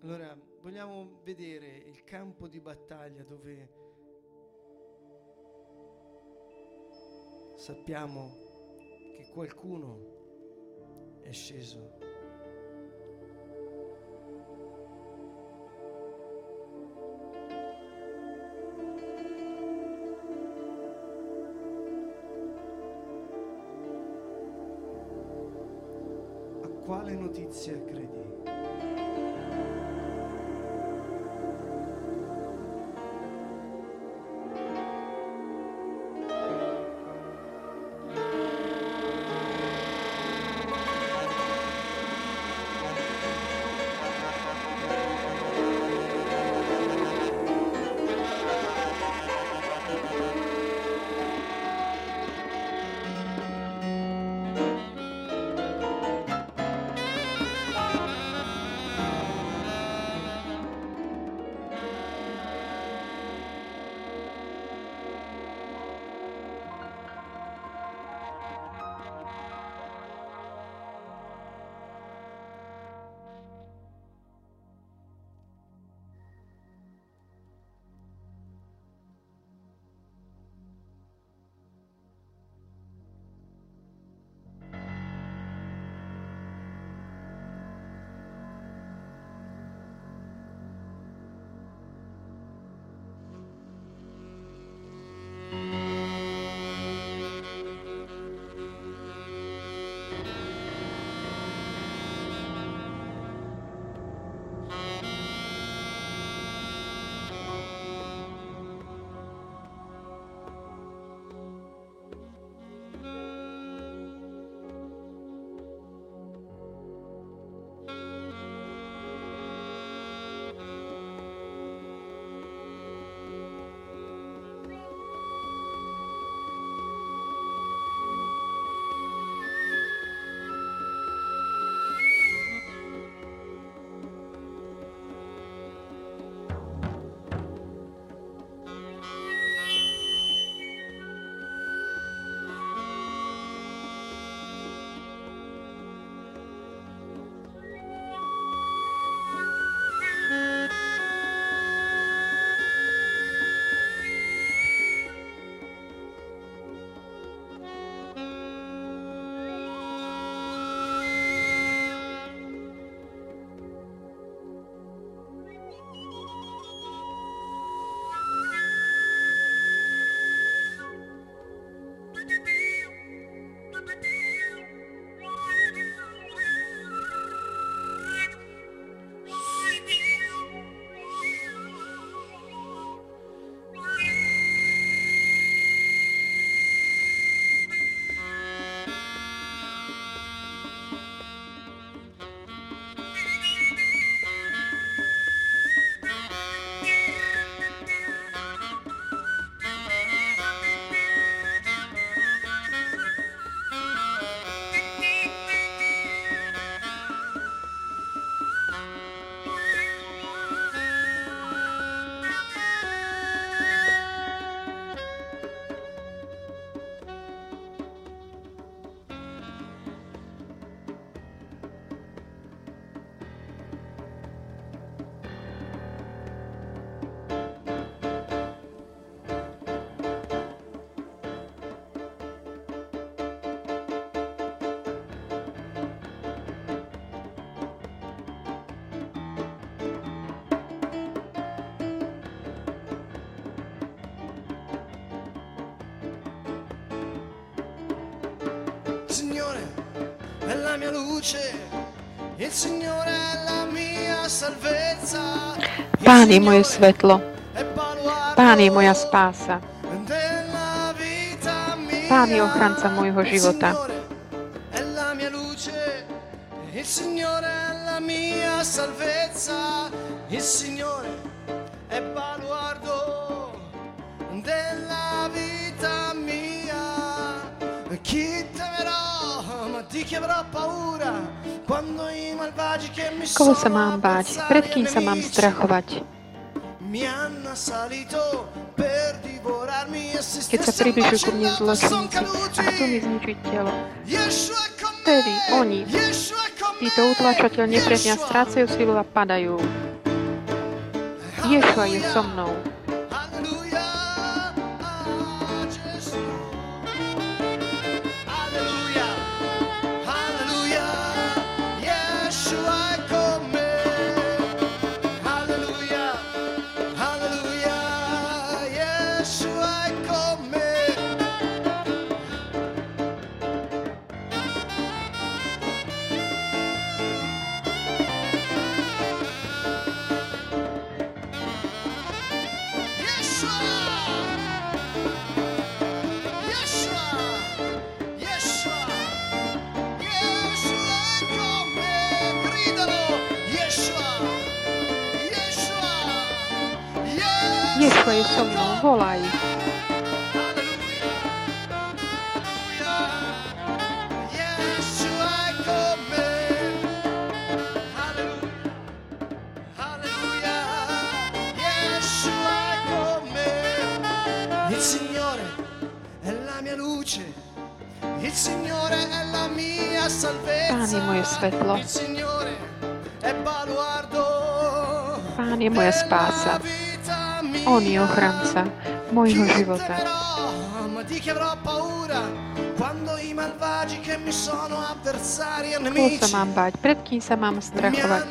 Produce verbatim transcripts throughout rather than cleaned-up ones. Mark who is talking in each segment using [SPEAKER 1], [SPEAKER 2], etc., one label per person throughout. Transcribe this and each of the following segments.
[SPEAKER 1] Allora, vogliamo vedere il campo di battaglia dove sappiamo che qualcuno è sceso. A quale notizia credi? Signore è la mia luce, il Signore è la mia salvezza.
[SPEAKER 2] Pán je moje svetlo, Pán je moja spása, Pán je ochranca môjho života.
[SPEAKER 1] Il Signore è la mia salvezza, il Signore è baluardo della vita mia. Chi temerò, ma di chi avrò paura quando i malvagi che mi
[SPEAKER 2] Koho sa mám báť? Pred kým sa mám strachovať? Keď sa približujú ku mne zločinníci a chcú mi zničiť telo, vtedy oni, títo utláčateľ nepriaznia, strácajú silu a padajú. Ješua je so mnou.
[SPEAKER 1] Alleluia. Gesù. Alleluia. Alleluia. Yeshua è con me. Alleluia. Alleluia. Yeshua è con me.
[SPEAKER 2] Ješua je so mnou. Volaj.
[SPEAKER 1] Il Signore è la mia luce, il Signore è la mia salvezza.
[SPEAKER 2] Pán je moje svetlo.
[SPEAKER 1] Il Signore è baluardo.
[SPEAKER 2] Pán je moja spása. On je ochranca môjho života. Koho sa mám báť? Pred kým sa mám strachovať?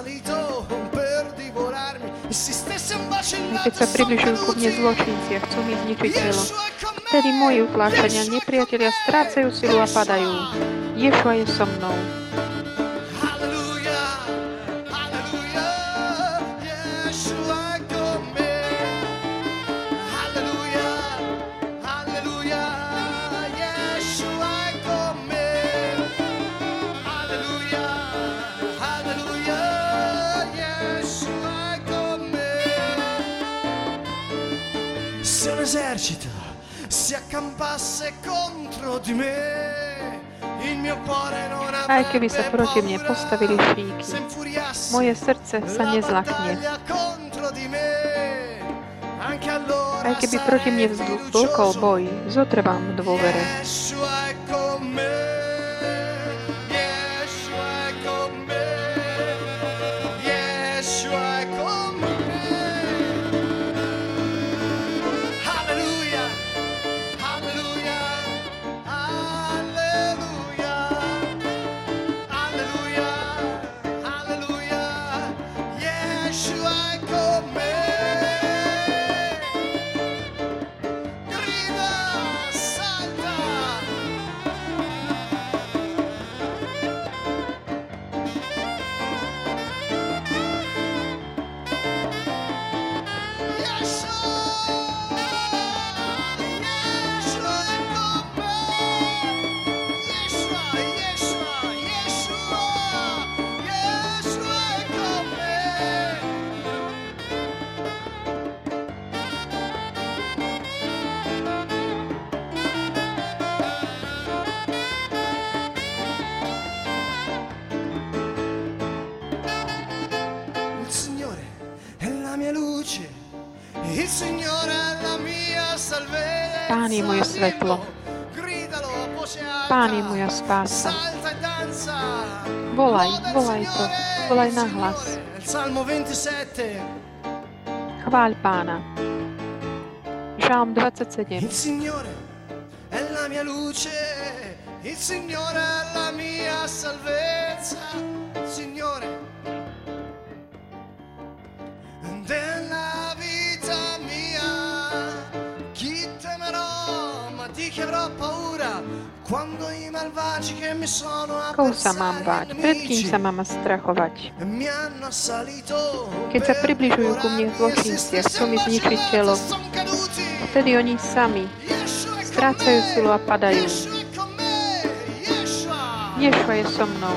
[SPEAKER 2] Keď sa približujú ku mne zločinci a chcú mi zničiť telo, vtedy moji utláčania nepriatelia strácajú silu a padajú. Ješua je so mnou.
[SPEAKER 1] Esercito si accampasse contro di me, il mio cuore non avrebbe
[SPEAKER 2] Aj keby sa proti mne postavili šíky, moje srdce sa nezlakne. Aj keby proti mne vzblkol boj, zotrvám v dôvere. Pán je moje svetlo. Pán je moja spása. Volaj, volaj to. Volaj na hlas. Chváľ Pána. Žalm dvadsaťsedem.
[SPEAKER 1] Il Signore è la mia luce, il Signore è la mia salvezza, Signore della vita mia, chi temerò, ma di chi avrò paura, quando i malvagi che mi sono
[SPEAKER 2] Koho sa mám báť? Pred kým sa mám strachovať?
[SPEAKER 1] mi hanno assalito,
[SPEAKER 2] Keď sa približujú ku mne zločinci a chcú mi zničiť telo, vtedy oni sami strácajú silu a padajú. Ješua je so mnou.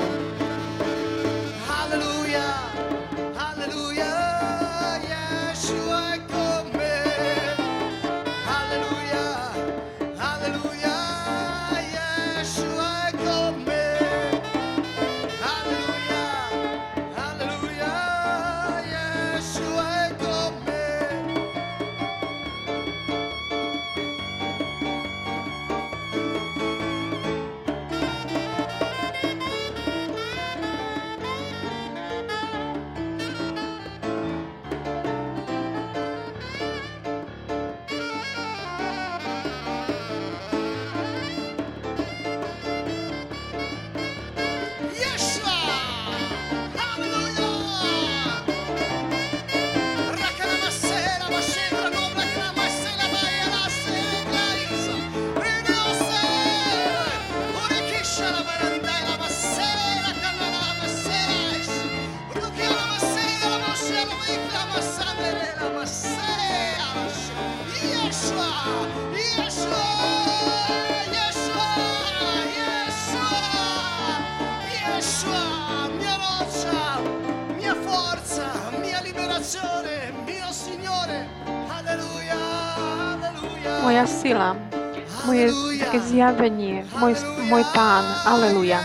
[SPEAKER 2] Moja sila, moje také zjavenie, môj, môj Pán. Aleluja.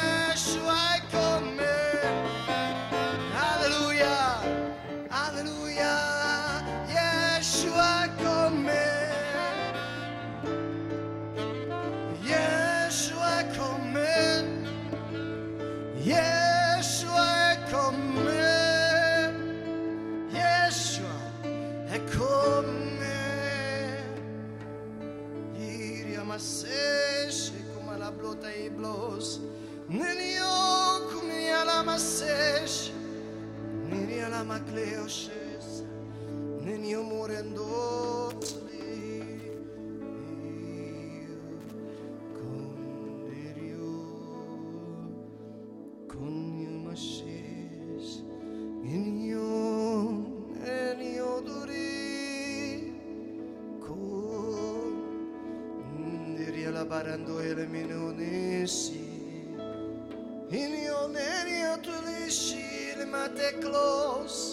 [SPEAKER 1] Barando ele minonesi in io neri tulishi le mate close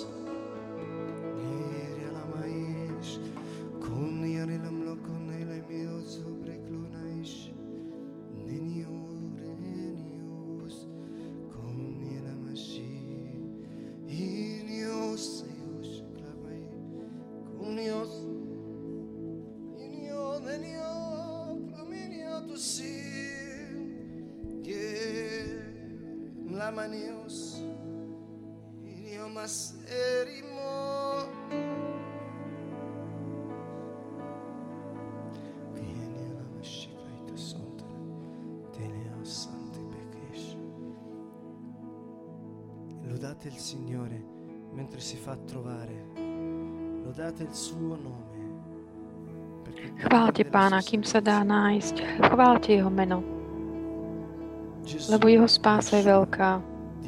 [SPEAKER 1] neri la mais con neri la mlo con ele mio sobre clonaish neni orenios con neri la mashi in io seus clavai con io in io neni to see, yeah, la manios, io maserimo, vieni la mashiva ita sontara, teneo santi bekesh. Lodate il Signore mentre si fa trovare, lodate il suo nome.
[SPEAKER 2] Chváľte Pána, kým sa dá nájsť. Chváľte jeho meno, lebo jeho spása je veľká.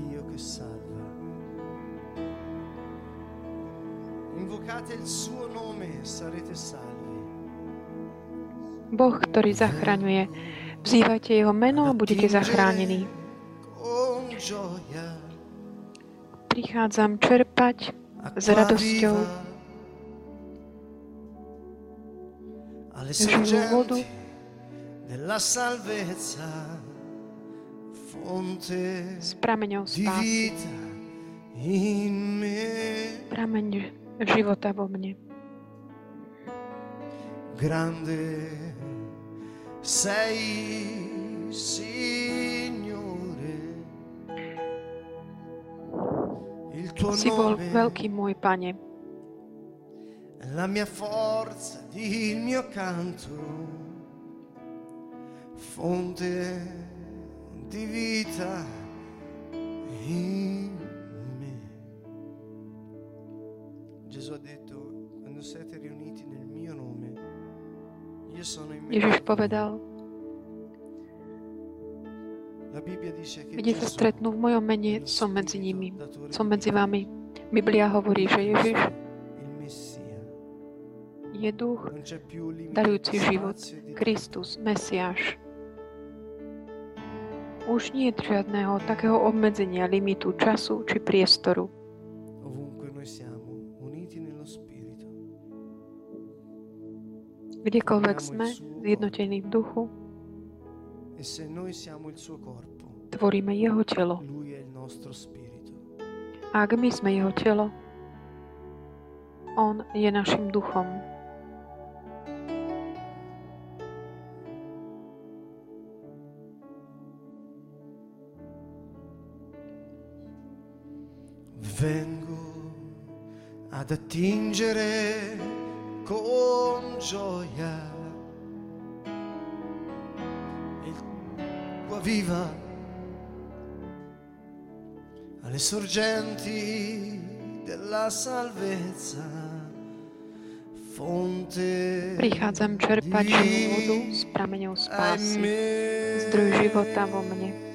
[SPEAKER 2] Boh, ktorý zachraňuje. Vzývajte jeho meno a budete zachránení. Prichádzam čerpať s radosťou živú vodu s prameňou spásy. Prameň života vo mne.
[SPEAKER 1] Grande sei, Signore. Il tuo
[SPEAKER 2] si bol veľký môj Pane.
[SPEAKER 1] La mia forza, il mio canto, fonte di vita in me. Gesù ha detto, quando siete riuniti nel mio nome, io sono in mezzo.
[SPEAKER 2] Ježiš povedal,
[SPEAKER 1] La Bibbia dice che
[SPEAKER 2] kde sa stretnú v mojom mene, som medzi nimi, som medzi vami. Biblia hovorí, že Ježiš je duch, darujúci život, Kristus, Mesiáš. Už nie je žiadneho takého obmedzenia, limitu, času či priestoru. Kdekoľvek sme, zjednotení v duchu, tvoríme jeho telo. A ak my sme jeho telo, on je našim duchom.
[SPEAKER 1] Vengo ad attingere con gioia il tua viva alle sorgenti della salvezza, fonte.
[SPEAKER 2] Prichádzam čerpať živú vodu s prameňou spásy, zdroj života vo mne.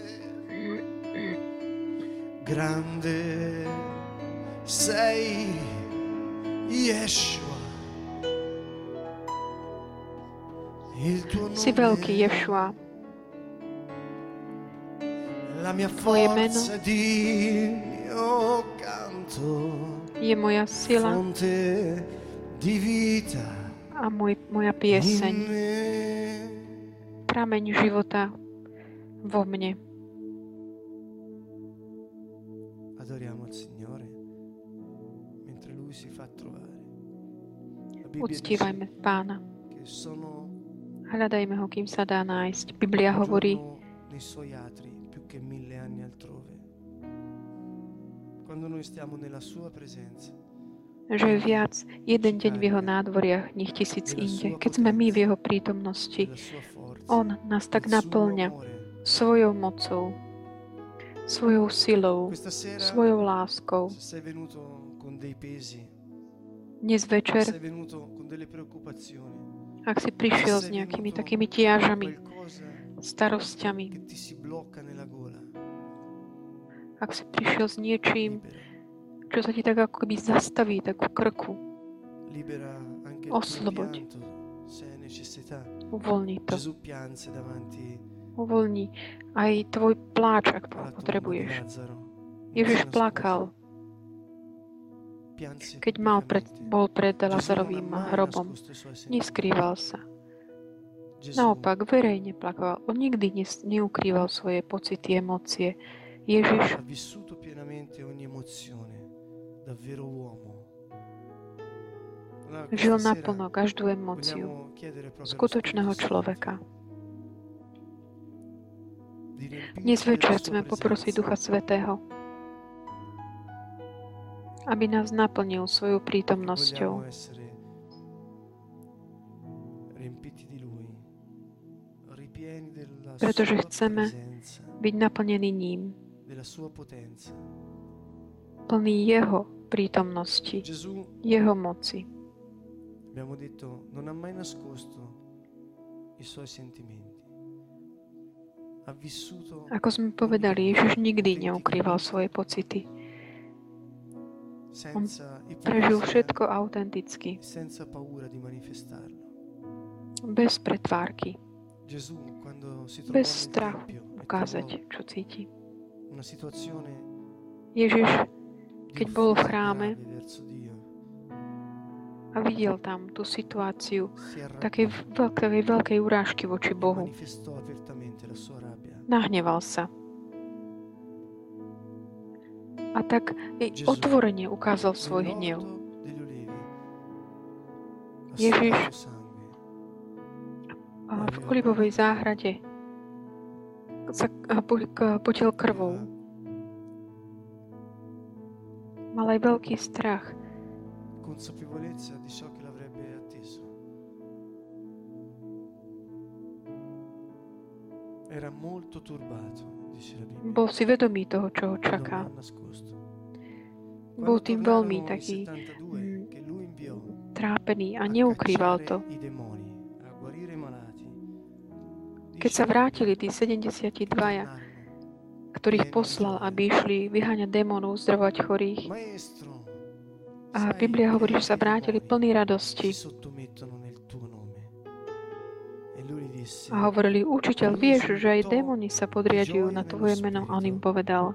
[SPEAKER 1] Grande sei, Yeshua. Il tuo nome,
[SPEAKER 2] si veľký, Ješua.
[SPEAKER 1] La mia forza di mio canto,
[SPEAKER 2] je moja sila
[SPEAKER 1] fonte di vita
[SPEAKER 2] a môj, moja
[SPEAKER 1] in
[SPEAKER 2] pieseň,
[SPEAKER 1] me.
[SPEAKER 2] prameň života vo mne.
[SPEAKER 1] Adoriamo il Signore mentre Lui si fa trovare. La Bibbia dice
[SPEAKER 2] Uctívajme Pána.
[SPEAKER 1] che sono
[SPEAKER 2] Hľadajme ho, kým sa dá nájsť. Biblia
[SPEAKER 1] un
[SPEAKER 2] hovorí,
[SPEAKER 1] giorno nei Suoi atri più che mille anni altrove. Quando noi stiamo nella Sua presenza,
[SPEAKER 2] že je viac jeden deň v jeho nádvoriach, nech tisíc inde. Keď sme my v jeho prítomnosti,
[SPEAKER 1] della Sua forza,
[SPEAKER 2] on nás tak
[SPEAKER 1] del suo
[SPEAKER 2] naplňa
[SPEAKER 1] amore.
[SPEAKER 2] svojou mocou, svojou silou,
[SPEAKER 1] Questa sera,
[SPEAKER 2] svojou láskou.
[SPEAKER 1] se sei venuto con dei pesi,
[SPEAKER 2] Dnes
[SPEAKER 1] se
[SPEAKER 2] večer,
[SPEAKER 1] sei venuto con delle preoccupazioni,
[SPEAKER 2] ak si prišiel s nejakými takými tiažami, starosťami,
[SPEAKER 1] che ti si blocca nella gola,
[SPEAKER 2] ak si prišiel s niečím,
[SPEAKER 1] libera,
[SPEAKER 2] čo sa ti tak ako keby zastaví, tak v krku,
[SPEAKER 1] libera anche il tuo
[SPEAKER 2] Osloboď.
[SPEAKER 1] pianto, se hai necessità.
[SPEAKER 2] uvoľni to.
[SPEAKER 1] Gesù pianse davanti
[SPEAKER 2] Uvoľni aj tvoj pláč, ak
[SPEAKER 1] alla tomba di
[SPEAKER 2] potrebuješ.
[SPEAKER 1] Lazzaro.
[SPEAKER 2] Ježiš
[SPEAKER 1] Non si
[SPEAKER 2] plakal,
[SPEAKER 1] nascose, pianse
[SPEAKER 2] keď mal pred,
[SPEAKER 1] pubblicamente.
[SPEAKER 2] bol pred
[SPEAKER 1] Gesù non ha
[SPEAKER 2] Lazarovým
[SPEAKER 1] mai
[SPEAKER 2] hrobom.
[SPEAKER 1] nascosto i suoi sentimenti.
[SPEAKER 2] Neskrýval sa.
[SPEAKER 1] Gesù
[SPEAKER 2] Naopak, verejne plakal. On nikdy nes- neukrýval svoje pocity, emócie. Ježiš
[SPEAKER 1] ha vissuto pienamente ogni emozione, davvero uomo. Allora,
[SPEAKER 2] žil
[SPEAKER 1] questa sera
[SPEAKER 2] naplno každú emóciu
[SPEAKER 1] vogliamo chiedere proprio allo
[SPEAKER 2] skutočného
[SPEAKER 1] Spirito
[SPEAKER 2] človeka.
[SPEAKER 1] Santo di riempirci
[SPEAKER 2] Dnes
[SPEAKER 1] della
[SPEAKER 2] večer
[SPEAKER 1] sua
[SPEAKER 2] chceme poprosiť
[SPEAKER 1] presenza,
[SPEAKER 2] Ducha Svätého, aby nás naplnil svojou
[SPEAKER 1] perché
[SPEAKER 2] prítomnosťou,
[SPEAKER 1] vogliamo essere riempiti di Lui, ripieni della
[SPEAKER 2] pretože
[SPEAKER 1] sua
[SPEAKER 2] chceme
[SPEAKER 1] presenza,
[SPEAKER 2] byť naplnení ním,
[SPEAKER 1] della sua potenza.
[SPEAKER 2] plný Jeho prítomnosti,
[SPEAKER 1] Gesù,
[SPEAKER 2] Jeho moci.
[SPEAKER 1] abbiamo detto, non ha mai nascosto i suoi sentimenti. Ha vissuto
[SPEAKER 2] Ako sme povedali, Ježiš nikdy neukrýval svoje pocity.
[SPEAKER 1] senza
[SPEAKER 2] Prežil
[SPEAKER 1] ipocrisia
[SPEAKER 2] všetko autenticky,
[SPEAKER 1] e senza paura di manifestarlo.
[SPEAKER 2] bez pretvárky,
[SPEAKER 1] Gesù, quando si trovò
[SPEAKER 2] bez
[SPEAKER 1] nel
[SPEAKER 2] strachu
[SPEAKER 1] tempio e
[SPEAKER 2] ukázať,
[SPEAKER 1] trovò
[SPEAKER 2] čo cíti.
[SPEAKER 1] una situazione
[SPEAKER 2] Ježiš,
[SPEAKER 1] di
[SPEAKER 2] keď bol v
[SPEAKER 1] offesa
[SPEAKER 2] chráme
[SPEAKER 1] grave verso Dio,
[SPEAKER 2] a videl tam tú situáciu
[SPEAKER 1] si arrabbiò
[SPEAKER 2] takej veľkej, veľkej urážky voči
[SPEAKER 1] e
[SPEAKER 2] Bohu,
[SPEAKER 1] manifestò apertamente la sua rabbia.
[SPEAKER 2] nahneval sa. A tak i
[SPEAKER 1] Gesù,
[SPEAKER 2] otvorene ukázal svoj hnev.
[SPEAKER 1] nell'orto degli Ulivi, ha
[SPEAKER 2] Ježiš
[SPEAKER 1] sudato sangue,
[SPEAKER 2] a v olivovej záhrade sa a po- k- potiel krvou.
[SPEAKER 1] aveva
[SPEAKER 2] Mal aj veľký strach,
[SPEAKER 1] consapevolezza di ciò che l'avrebbe atteso. Era molto turbato, dice la Bibbia.
[SPEAKER 2] bol si vedomý toho, čo ho
[SPEAKER 1] Non l'ha
[SPEAKER 2] čaká.
[SPEAKER 1] nascosto.
[SPEAKER 2] Bol
[SPEAKER 1] Quando
[SPEAKER 2] tým veľmi
[SPEAKER 1] tornarono i
[SPEAKER 2] taký
[SPEAKER 1] settantadue
[SPEAKER 2] mm,
[SPEAKER 1] che lui inviò
[SPEAKER 2] trápený a
[SPEAKER 1] a
[SPEAKER 2] neukrýval
[SPEAKER 1] cacciare
[SPEAKER 2] to.
[SPEAKER 1] i demoni, a guarire i malati,
[SPEAKER 2] Keď sa vrátili tí sedemdesiatdvaja,
[SPEAKER 1] tornarono
[SPEAKER 2] ktorých
[SPEAKER 1] pieni di
[SPEAKER 2] poslal,
[SPEAKER 1] gioia.
[SPEAKER 2] aby išli vyháňať démonov, uzdravovať chorých.
[SPEAKER 1] Maestro,
[SPEAKER 2] A
[SPEAKER 1] sai
[SPEAKER 2] Biblia hovorí,
[SPEAKER 1] che
[SPEAKER 2] že sa
[SPEAKER 1] i
[SPEAKER 2] vrátili
[SPEAKER 1] demoni
[SPEAKER 2] plní
[SPEAKER 1] si
[SPEAKER 2] radosti.
[SPEAKER 1] sottomettono nel tuo nome. E lui gli disse,
[SPEAKER 2] A hovorili, učiteľ, vieš, že aj démoni sa podriadujú na tvoje meno. A on im povedal,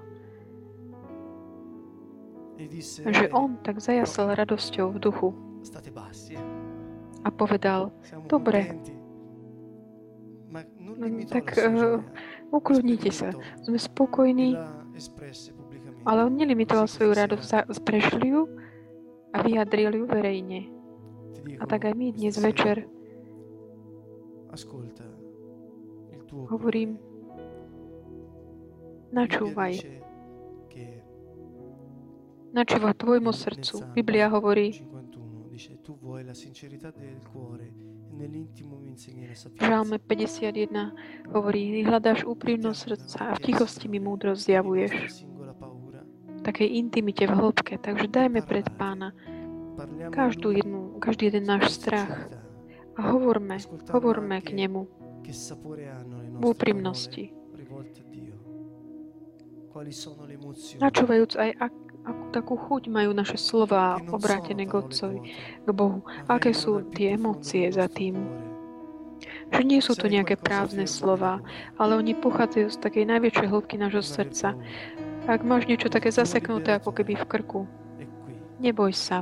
[SPEAKER 1] e disse,
[SPEAKER 2] že
[SPEAKER 1] "Bene,
[SPEAKER 2] on tak zajasal radosťou v duchu
[SPEAKER 1] state bassi, eh?
[SPEAKER 2] a povedal,
[SPEAKER 1] Siamo
[SPEAKER 2] dobre,
[SPEAKER 1] contenti." Ma non
[SPEAKER 2] mm,
[SPEAKER 1] limitò
[SPEAKER 2] tak
[SPEAKER 1] la sua
[SPEAKER 2] eh,
[SPEAKER 1] gioia,
[SPEAKER 2] ukludnite sa,
[SPEAKER 1] sperimentò
[SPEAKER 2] sme
[SPEAKER 1] e
[SPEAKER 2] spokojní,
[SPEAKER 1] la espresse pubblicamente.
[SPEAKER 2] ale on nelimitoval
[SPEAKER 1] Così
[SPEAKER 2] svoju
[SPEAKER 1] questa
[SPEAKER 2] radosť,
[SPEAKER 1] sera
[SPEAKER 2] za- prežili ju a vyjadrili ju verejne.
[SPEAKER 1] ti dico,
[SPEAKER 2] A tak aj my
[SPEAKER 1] questa
[SPEAKER 2] dnes
[SPEAKER 1] sera,
[SPEAKER 2] večer
[SPEAKER 1] ascolta il tuo
[SPEAKER 2] hovorím,
[SPEAKER 1] cuore. Bibbia
[SPEAKER 2] načúvaj,
[SPEAKER 1] dice che
[SPEAKER 2] načúvaj tvojmu
[SPEAKER 1] nel- nel
[SPEAKER 2] srdcu.
[SPEAKER 1] Salmo
[SPEAKER 2] Biblia hovorí,
[SPEAKER 1] cinquantuno dice, tu vuoi la sincerità del cuore e nell'intimo mi insegni la
[SPEAKER 2] v
[SPEAKER 1] sapienza.
[SPEAKER 2] Žalme päťdesiatjeden hovorí, hľadáš úprimnosť srdca a v tichosti mi múdro zjavuješ.
[SPEAKER 1] Di nostra singola paura,
[SPEAKER 2] V takej intimite, v hĺbke. Takže dajme pred Pána
[SPEAKER 1] parliamo
[SPEAKER 2] každú
[SPEAKER 1] a lui
[SPEAKER 2] jednu, každý jeden náš
[SPEAKER 1] con
[SPEAKER 2] strach
[SPEAKER 1] sincerità,
[SPEAKER 2] a hovorme,
[SPEAKER 1] ascoltando
[SPEAKER 2] hovorme k
[SPEAKER 1] anche
[SPEAKER 2] nemu
[SPEAKER 1] che sapore hanno le
[SPEAKER 2] v
[SPEAKER 1] nostre
[SPEAKER 2] úprimnosti,
[SPEAKER 1] parole rivolte a Dio. Quali sono le emozioni
[SPEAKER 2] načúvajúc aj ak, akú takú chuť majú naše slová
[SPEAKER 1] che non
[SPEAKER 2] obrátené
[SPEAKER 1] sono
[SPEAKER 2] k
[SPEAKER 1] parole
[SPEAKER 2] Otcovi,
[SPEAKER 1] vuote,
[SPEAKER 2] k Bohu.
[SPEAKER 1] ma
[SPEAKER 2] Aké
[SPEAKER 1] vengono
[SPEAKER 2] sú
[SPEAKER 1] dal più
[SPEAKER 2] tie
[SPEAKER 1] profondo
[SPEAKER 2] emócie
[SPEAKER 1] del
[SPEAKER 2] za
[SPEAKER 1] nostro
[SPEAKER 2] tým?
[SPEAKER 1] cuore.
[SPEAKER 2] Že nie sú
[SPEAKER 1] Se
[SPEAKER 2] to
[SPEAKER 1] hai
[SPEAKER 2] nejaké
[SPEAKER 1] qualcosa
[SPEAKER 2] prázdne
[SPEAKER 1] fermo
[SPEAKER 2] slová,
[SPEAKER 1] nel cuore,
[SPEAKER 2] ale oni pochádzajú z takej najväčšej hĺbky nášho
[SPEAKER 1] non aver
[SPEAKER 2] srdca.
[SPEAKER 1] paura.
[SPEAKER 2] Ak máš niečo také
[SPEAKER 1] Il tuo
[SPEAKER 2] zaseknuté ako keby v krku,
[SPEAKER 1] liberatore è qui.
[SPEAKER 2] Neboj sa.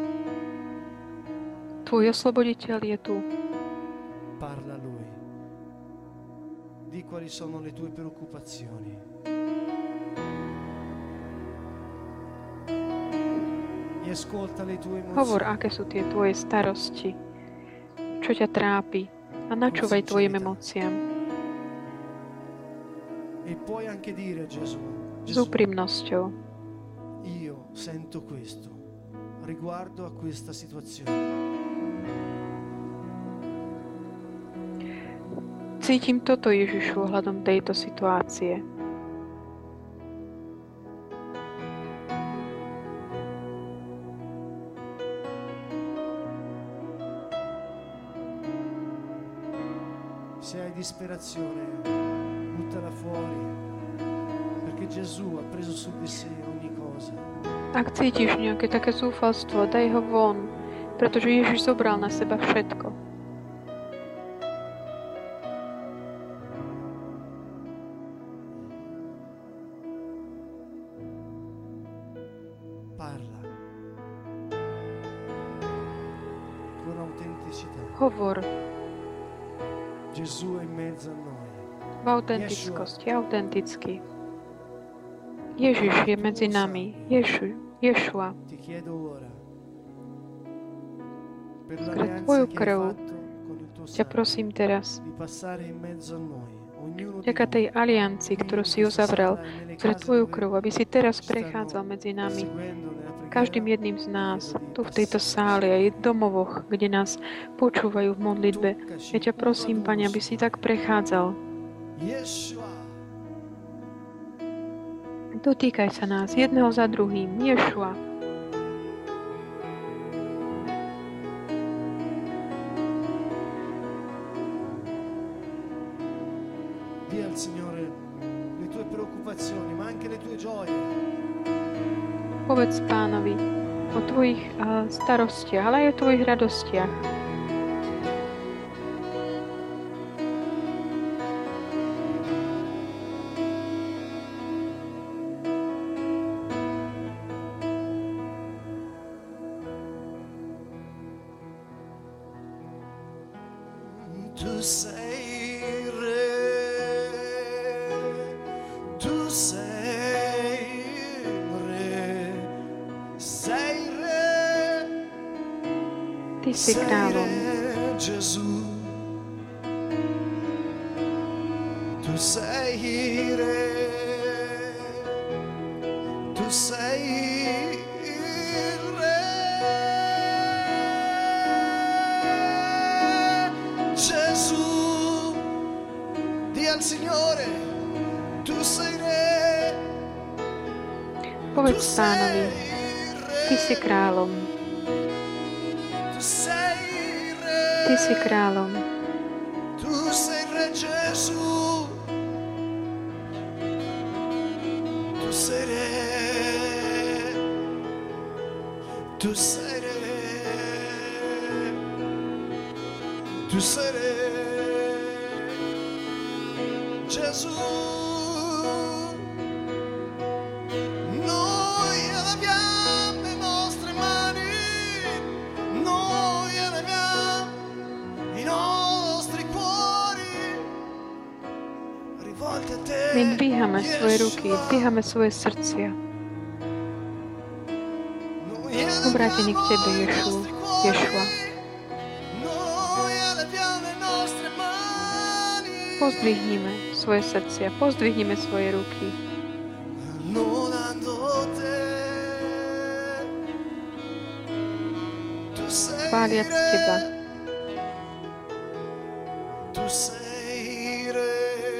[SPEAKER 2] Tvoj osloboditeľ je tu.
[SPEAKER 1] Parla a lui. Di quali sono le tue preoccupazioni. E ascolta le tue emozioni.
[SPEAKER 2] Hovor, aké sú tie tvoje starosti, čo ťa trápi, a načúvaj tvojim emóciám.
[SPEAKER 1] E puoi anche dire a Gesù,
[SPEAKER 2] S úprimnosťou.
[SPEAKER 1] io sento questo riguardo a questa situazione.
[SPEAKER 2] Cítim toto, Ježišu, ohľadom tejto situácie.
[SPEAKER 1] Se hai disperazione, buttala fuori, perché Gesù ha preso su di sé ogni cosa.
[SPEAKER 2] Ak cítiš nejaké také zúfalstvo, daj ho von, pretože Ježiš zobral na seba všetko.
[SPEAKER 1] Parla con autenticità.
[SPEAKER 2] Hovor
[SPEAKER 1] Gesù è in mezzo a noi.
[SPEAKER 2] v autentickosti, autenticky. Ježiš je medzi nami. Ješu, Ješua.
[SPEAKER 1] Ti chiedo ora, per
[SPEAKER 2] Skrz
[SPEAKER 1] l'alleanza
[SPEAKER 2] tvoju
[SPEAKER 1] che
[SPEAKER 2] krv
[SPEAKER 1] hai fatto con il tuo
[SPEAKER 2] ťa
[SPEAKER 1] sangue,
[SPEAKER 2] prosím teraz,
[SPEAKER 1] di passare in mezzo a noi, ognuno di
[SPEAKER 2] vďaka tej
[SPEAKER 1] noi,
[SPEAKER 2] aliancii, ktorú si uzavrel skrz tvoju krv, aby si teraz prechádzal medzi nami,
[SPEAKER 1] seguendo nella
[SPEAKER 2] každým
[SPEAKER 1] preghiera,
[SPEAKER 2] jedným z nás, tu v tejto sále aj v domovoch, kde nás počúvajú v modlitbe. Ja ťa prosím, Pane, aby si tak prechádzal.
[SPEAKER 1] Yeshua,
[SPEAKER 2] Dotýkaj sa nás jedného za druhým. Ješua.
[SPEAKER 1] di al Signore le tue preoccupazioni, ma anche le tue gioie.
[SPEAKER 2] Povedz Pánovi o tvojich uh, starostiach, ale aj o tvojich radostiach.
[SPEAKER 1] Tu sei re, tu sei re, sei re,
[SPEAKER 2] Ty si
[SPEAKER 1] sei
[SPEAKER 2] kráľom.
[SPEAKER 1] re, Gesù. Tu sei re, tu sei al Signore, tu sei re.
[SPEAKER 2] Povedz Pánovi, Ty si kráľom.
[SPEAKER 1] Tu sei re.
[SPEAKER 2] Ty si kráľom.
[SPEAKER 1] Tu sei re Gesù. Tu sei re. Tu sei re. Tu sei re. Gesù, noi eleviamo le nostre mani, noi eleviamo i nostri cuori rivolti a te.
[SPEAKER 2] My dvíhame svoje ruky, dvíhame svoje srdcia. Obrátení k Tebe, Ješu, Ješua. Pozdvihnime svoje srdcia, pozdvihnime svoje ruky. Chváliac Teba.
[SPEAKER 1] Tu sei re,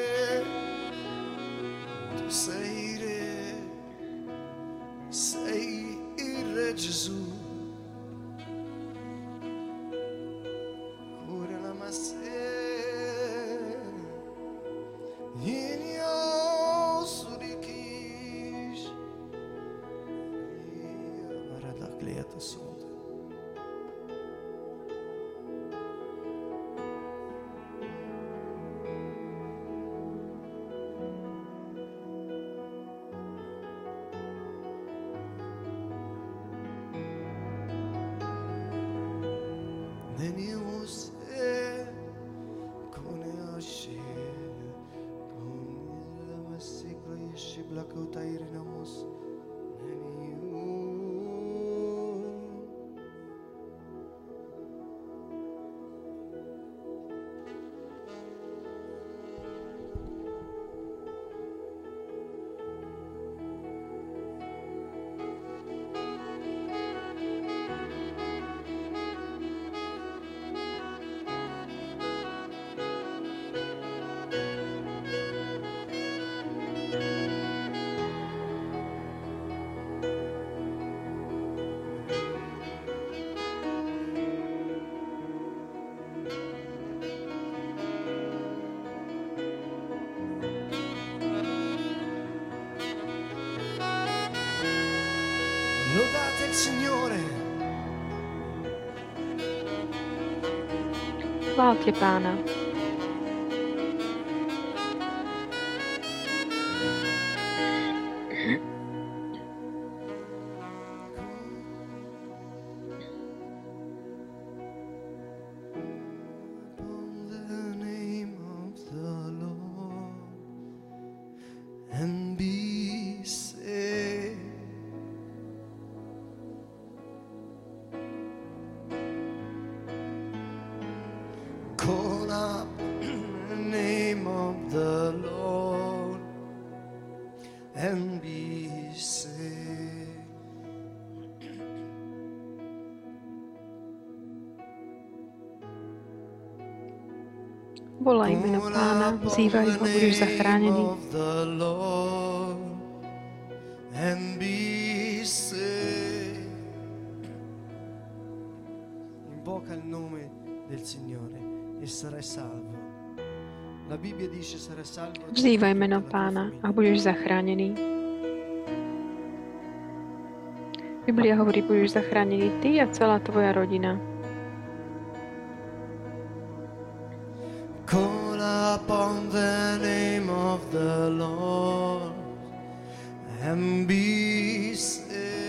[SPEAKER 1] tu sei re, sei il re Gesù. Cura la massa. Lodate il Signore.
[SPEAKER 2] Chváľte Pána.
[SPEAKER 1] Call up the name of the Lord and be saved.
[SPEAKER 2] Volaj meno Pána, vzývaj ho, budeš zachránený.
[SPEAKER 1] And be saved. Invoca il nome del Signore e sarai salvo. La Bibbia dice sarai salvo.
[SPEAKER 2] Vzývaj meno Pána a budeš zachránený. Biblia hovorí, budeš zachránený ty a celá tvoja rodina.
[SPEAKER 1] Call upon the name of the Lord and be saved.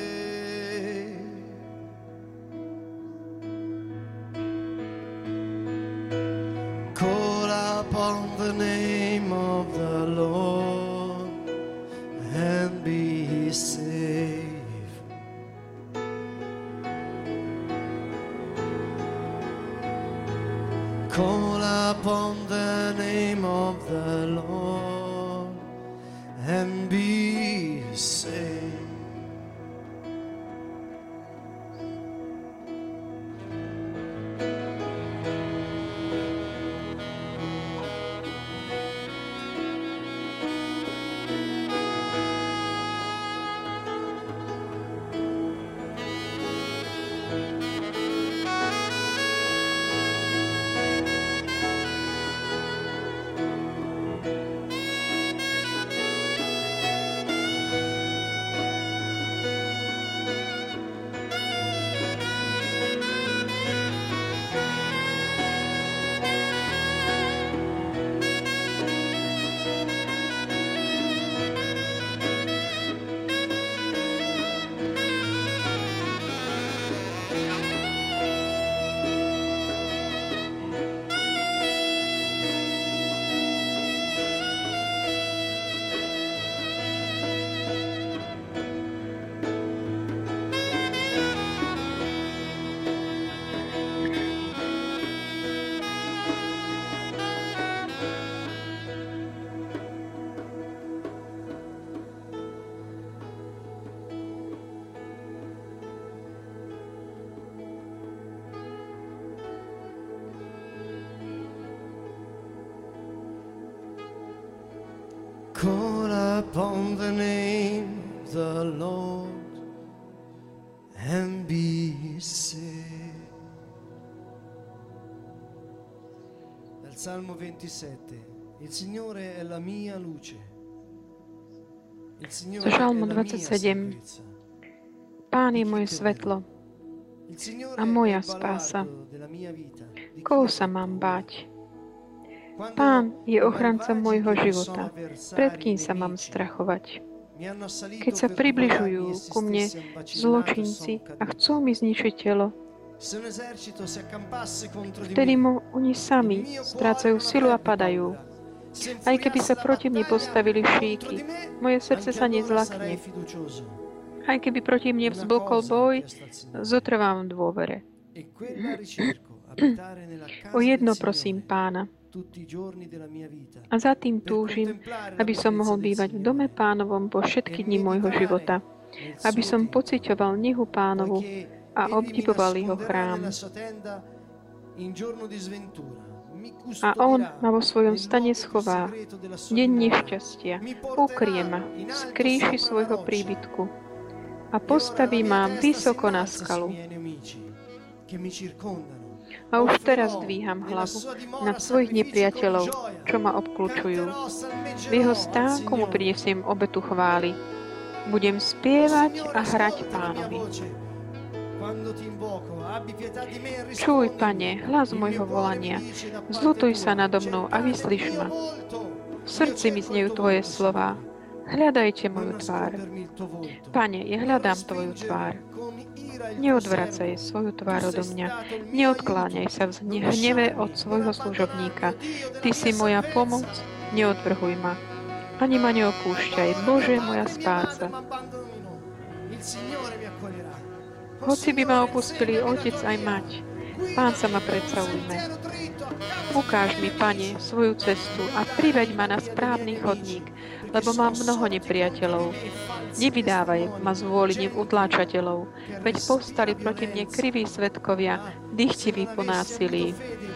[SPEAKER 1] Call upon the name of the Lord and be saved. Call upon the name of the Lord and be saved. Call upon the name of the Lord and be saved. Dal Salmo ventisette. Il Signore è la mia luce. Il Signore
[SPEAKER 2] Zo Žalmu
[SPEAKER 1] è la mia
[SPEAKER 2] dvadsaťsedem.
[SPEAKER 1] sicurezza.
[SPEAKER 2] Pán je moje svetlo
[SPEAKER 1] Il Signore
[SPEAKER 2] a
[SPEAKER 1] è
[SPEAKER 2] moja
[SPEAKER 1] il
[SPEAKER 2] spása.
[SPEAKER 1] baluardo della mia vita. Di
[SPEAKER 2] Koho
[SPEAKER 1] chi
[SPEAKER 2] sa
[SPEAKER 1] ho
[SPEAKER 2] mám
[SPEAKER 1] paura?
[SPEAKER 2] báť?
[SPEAKER 1] Quando
[SPEAKER 2] Pán je
[SPEAKER 1] i
[SPEAKER 2] ochranca
[SPEAKER 1] malvagi
[SPEAKER 2] môjho
[SPEAKER 1] che
[SPEAKER 2] života.
[SPEAKER 1] sono avversari
[SPEAKER 2] Pred kým
[SPEAKER 1] e
[SPEAKER 2] sa mám
[SPEAKER 1] nemici
[SPEAKER 2] strachovať?
[SPEAKER 1] mi hanno assalito
[SPEAKER 2] Keď sa
[SPEAKER 1] per
[SPEAKER 2] približujú
[SPEAKER 1] provarmi e se
[SPEAKER 2] ku mne
[SPEAKER 1] stessi a vacillare
[SPEAKER 2] zločinci
[SPEAKER 1] sono
[SPEAKER 2] a chcú mi zničiť telo, Vtedy mu oni sami strácajú silu a padajú. Aj keby sa proti mne postavili šíky, moje srdce sa nezlakne. Aj keby proti mne vzblkol boj, zotrvám v dôvere. O jedno prosím Pána. A za tým túžim, aby som mohol bývať v dome Pánovom po všetky dni môjho života. Aby som pociťoval nehu Pánovu a obdivoval jeho chrám. A on ma vo svojom stane schová. Deň nešťastia. Ukrie ma z kríši svojho príbytku a postaví ma vysoko na skalu. A už teraz dvíham hlavu nad svojich nepriateľov, čo ma obklúčujú. V jeho stánku mu prinesiem obetu chvály. Budem spievať a hrať Pánovi. Čuj, Pane, hlas môjho volania. Zľutuj sa nado mnou a vyslíš ma. V srdci mi znejú Tvoje slová. Hľadajte moju tvár. Pane, ja hľadám Tvoju tvár. Neodvracaj svoju tvár odo mňa. Neodkláňaj sa v hneve od svojho služobníka. Ty si moja pomoc, neodvrhuj ma. Ani ma neopúšťaj, Bože, moja spása. Hoci by ma opustili otec aj mať, Pán sa ma predsa ujme. Ukáž mi, Pane, svoju cestu a priveď ma na správny chodník, lebo mám mnoho nepriateľov. Nevydávaj ma z vôli utláčateľov, veď povstali proti mne kriví svedkovia, dychtiví po násilí.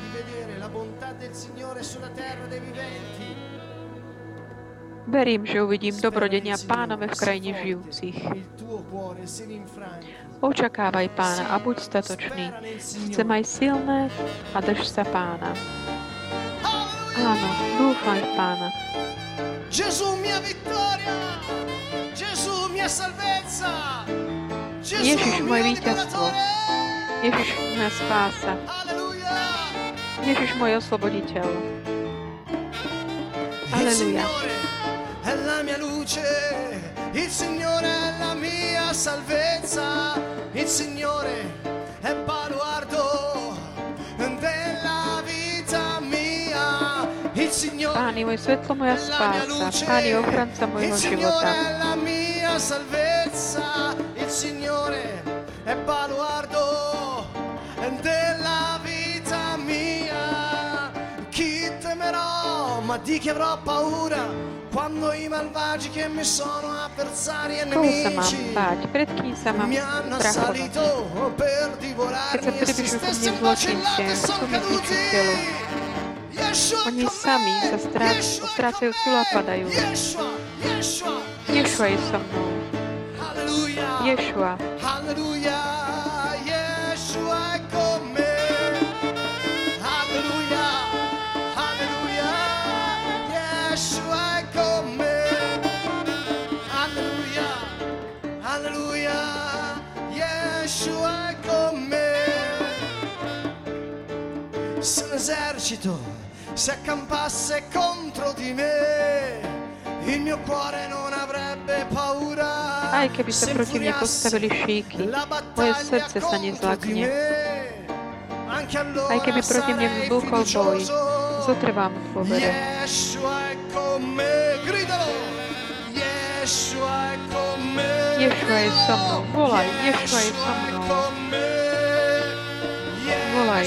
[SPEAKER 2] Verím, že uvidím dobrodenia Pánove v krajine žijúcich. Očakávaj Pána a buď statočný. Chce maj silné a drž sa Pána. Áno, dúfaj v Pána. Ježiš, moje víťazstvo. Ježiš, moja spása. Ježiš, môj osloboditeľ. Aleluja.
[SPEAKER 1] È la mia luce, il Signore è la mia salvezza, il Signore è baluardo della vita mia, il Signore
[SPEAKER 2] Pán je moje svetlo, moja spása, Pán je ochranca mojho života.
[SPEAKER 1] Il Signore è la mia salvezza, il Signore è baluardo della vita mia, chi temerò, ma di chi avrò paura? Quando i malvagi che mi sono avversari e
[SPEAKER 2] Koho sa mám
[SPEAKER 1] nemici
[SPEAKER 2] báť? Pred kým sa mám
[SPEAKER 1] mi hanno
[SPEAKER 2] strachovať?
[SPEAKER 1] assalito per
[SPEAKER 2] Keď sa
[SPEAKER 1] divorarmi e si
[SPEAKER 2] približujú ku mne
[SPEAKER 1] stessi
[SPEAKER 2] zločinci,
[SPEAKER 1] macellati
[SPEAKER 2] sú
[SPEAKER 1] son
[SPEAKER 2] mi
[SPEAKER 1] caduti.
[SPEAKER 2] zničiteľu.
[SPEAKER 1] Yeshua
[SPEAKER 2] Oni
[SPEAKER 1] con
[SPEAKER 2] sami
[SPEAKER 1] me.
[SPEAKER 2] sa strá-
[SPEAKER 1] Yeshua
[SPEAKER 2] strácajú
[SPEAKER 1] con
[SPEAKER 2] silu a
[SPEAKER 1] me.
[SPEAKER 2] padajú.
[SPEAKER 1] Yeshua, Yeshua,
[SPEAKER 2] Ješua je so mnou.
[SPEAKER 1] Alleluia.
[SPEAKER 2] Ješua.
[SPEAKER 1] Alleluia. Yeshua è con me. Alleluia. Alleluia. Yeshua è con me. Alleluia. Alleluia. Yeshua è con me. Se l'esercito si accampasse contro di me, il mio cuore non avrebbe paura.
[SPEAKER 2] Aj keby sa proti mne postavili šíky, moje srdce sa nezlakne. Aj keby proti mne vzblkol boj, zotrvám v dôvere.
[SPEAKER 1] Yeshua è con me, gridalo. Yeshua è con me.
[SPEAKER 2] Ješua je so mnou. Volaj, Ješua je so mnou. Volaj.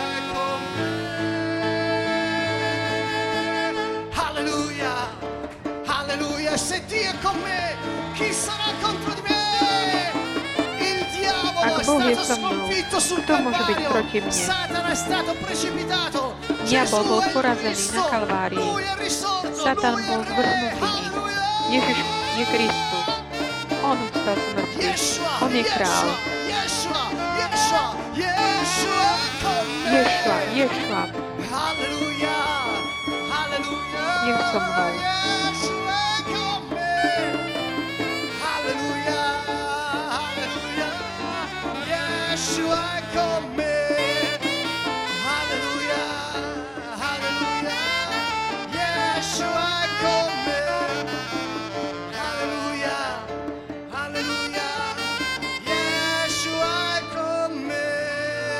[SPEAKER 1] Alleluia, alleluia, se Dio è con me, chi sarà contro di me? Il diavolo
[SPEAKER 2] Ak
[SPEAKER 1] è
[SPEAKER 2] Boh je
[SPEAKER 1] stato
[SPEAKER 2] so mnou,
[SPEAKER 1] sconfitto sul
[SPEAKER 2] kto môže byť
[SPEAKER 1] Calvario,
[SPEAKER 2] proti mne?
[SPEAKER 1] Satana è stato precipitato,
[SPEAKER 2] Diabol bol
[SPEAKER 1] Gesù è
[SPEAKER 2] porazený
[SPEAKER 1] Cristo,
[SPEAKER 2] na Kalvárii.
[SPEAKER 1] Lui è risorto,
[SPEAKER 2] Satan
[SPEAKER 1] Lui è
[SPEAKER 2] bol
[SPEAKER 1] Re,
[SPEAKER 2] zvrhnutý.
[SPEAKER 1] alleluia.
[SPEAKER 2] Ježiš je Kristus. On vstal z mŕtvych.
[SPEAKER 1] Yeshua,
[SPEAKER 2] On je král.
[SPEAKER 1] Yeshua, Yeshua, Yeshua è con me.
[SPEAKER 2] Ješua, Ješua.
[SPEAKER 1] Alleluia, alleluia.
[SPEAKER 2] Je so mnou.
[SPEAKER 1] Yeshua è con me. Alleluia, alleluia. Yeshua è con me. Alleluia, alleluia. Yeshua è con me. Alleluia, alleluia. Yeshua è con me.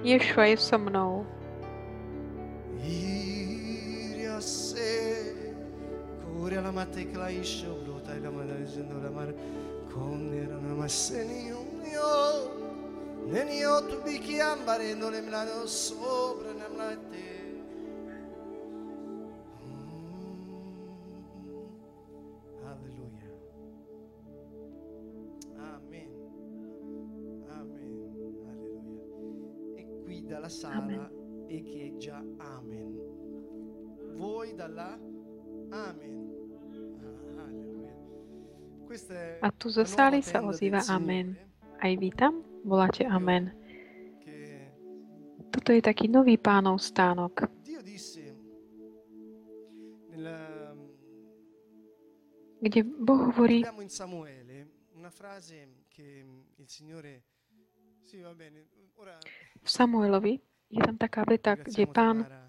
[SPEAKER 2] Ješua je so mnou.
[SPEAKER 1] Iria se curia la matte claisce blota la mano dicendo la mano con era una masseni io nenio tu bicchi ambarendo le mlano sopra na mlate. Alleluia. Amen. Amen. Alleluia. E qui dalla sala echeggia amen. Voi dalla amen. Ah, alleluia. Questa è
[SPEAKER 2] A tu zo sály sa ozýva amen. Aj vy tam voláte amen. Toto je taký nový Pánov stánok. Kde Boh hovorí v Samuelovi, je tam taká veta, kde Pán